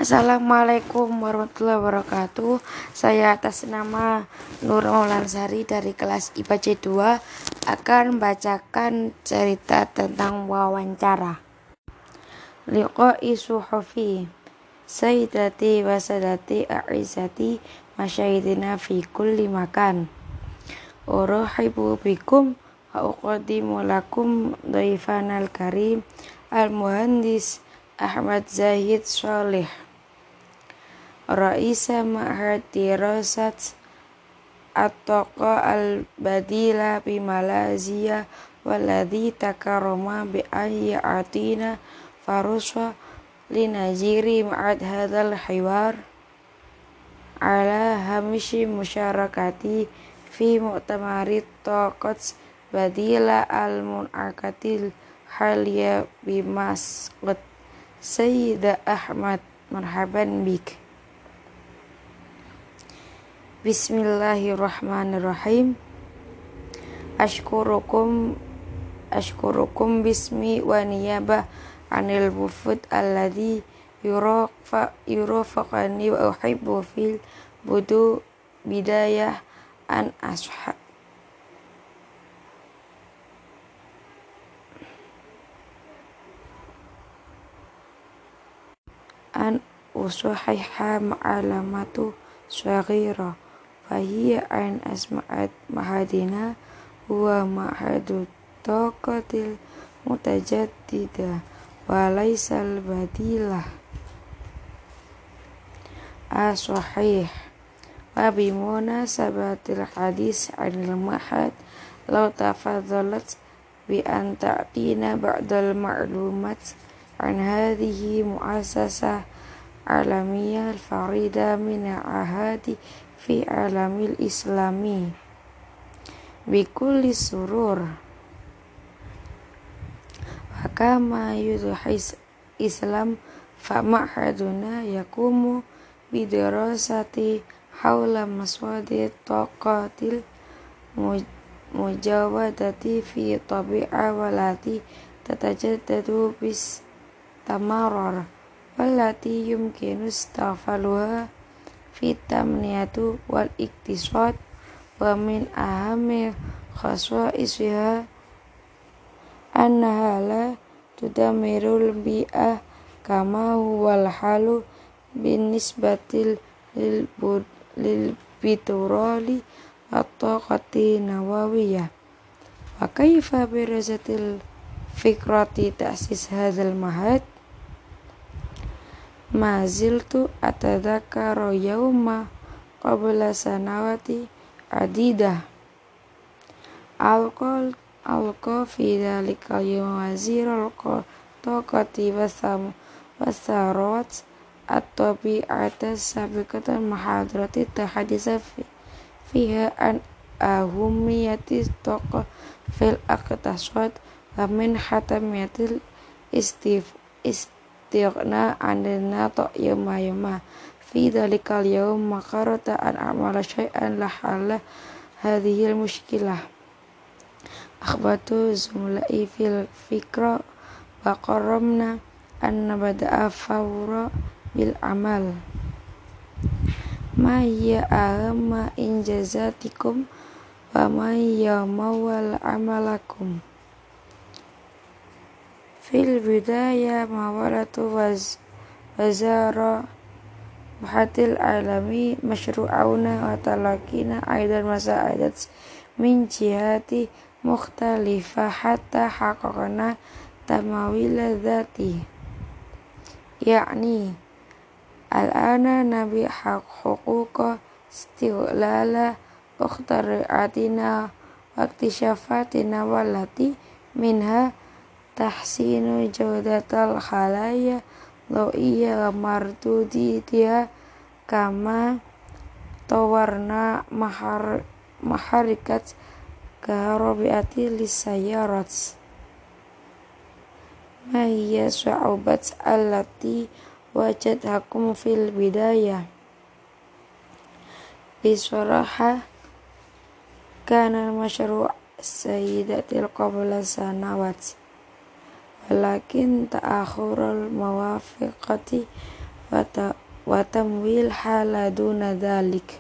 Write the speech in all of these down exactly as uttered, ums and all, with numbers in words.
Assalamualaikum warahmatullahi wabarakatuh. Saya atas nama Nur Maulansari dari kelas I P A C dua akan membacakan cerita tentang wawancara. Liqa'i suhufi Sayyidati wa sadati a'izati masyayidina fi kulli makan. Urahibu bikum wa uqaddimu lakum dhaifanal karim al-muhandis Ahmad Zahid Sholih, Raisa Ma'had Dirasat At-Taqa Al-Badila bi Malaysia waladhi takaroma bi ayyi atina faruswa linajiri ma'ad hadal hiwar ala hamishi musyarakati fi mu'tamarit taqat badila al-mun'akatil haliya bi Masqat Sayyida Ahmad. Marhaban bik. Bismillahirrahmanirrahim. Ashkurukum Ashkurukum bismi wa niyabah anil wufud alladhi yurafa yurafaqani wa uhibbu fil budu bidayah an ashab an usuhiha ma'alamatu syaghira fahiya an asma'at mahadina huwa ma'hadu taqatil mutajaddida wa laysal badilah as-sahih wa bimuna sabatil hadis anil mahad law tafadzalat bi an ta'tina ba'dal ma'lumat an hadhihi mu'assasah alamiyah al-farida min ahadi fi alamil islami bikulli surur wa kama yudhis islam fa ma'haduna yakumu bidirasati hawla maswadi taqatil mujawadati fi tabi'a walati tatajaddadu bis tamarar wallati yumkinu istaghfaluha fi tamniyatu wal iktisad wa min ahammi khaswaisiha annaha la tudamirul bi'ah kama huwal halu binisbatil lil biturali at-taqati nawawiyah. Wa kaifa birazatil fikrati ta'sis hadzal mahad ma ziltu atadzakkaru yawma qabla sanawati adidah alqal alqa fi dhalika yawm wazirul taqati wasam wasarat at-tabi'ata sabiqatan mahadrati tahadisa fiha an ahumiyati taqa fil aqtasad wa min hatamiyatil istif istighna anil nata yawma yawma fi dhalikal yawm makarata an a'mala syai'an lahalla hadhil mushkilah akhbatu zumla'i fil fikra wa qarramna an nabada'a fawra bil amal ma hiya ahamma injazatikum wa ma hiya mawal amalakum. Fil bidaya mawalatu waz wazara bahatil alami masyru'auna wa talakina aidan masa'adat min jihati mukhtalifah hatta haqaqna tamawila dhati yakni al-ana nabi haq huquqa istighlala ukhtari'atina wa iktishafatina walati minha tahsinu jawdatal khalaya lawiyya mardudiyya kama tawarna mahar maharikat kaharabiati lisayarat ma hiya su'ubat allati wajadhakum fil bidayah bisaraha kana masyru' sayyidatil qabla sanawat walakin ta'akhurul mawafiqati wa tamwil hala duna dhalik.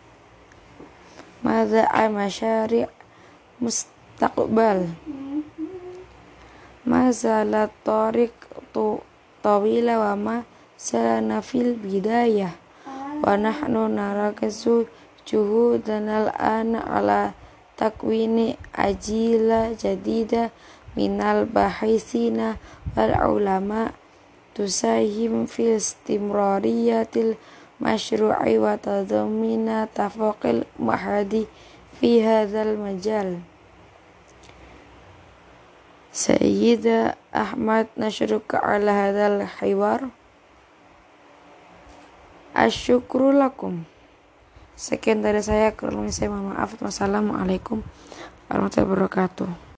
Madza masyari' mustaqbal. Ma zalat tariq tu tawila wa ma salana fil bidayah. Wa nahnu narakazu juhudanal ana ala takwini ajila jadida minal bahisina wal ulama tusahim fil istimrariyatil masyru'i wa tadamina tafaqil mahadi fi hadzal majal. Sayyida Ahmad, nasyuruka ala hadzal hiwar. Asyukru lakum. Sekian dari saya, kurang lebih saya mohon maaf. Wassalamualaikum warahmatullahi wabarakatuh.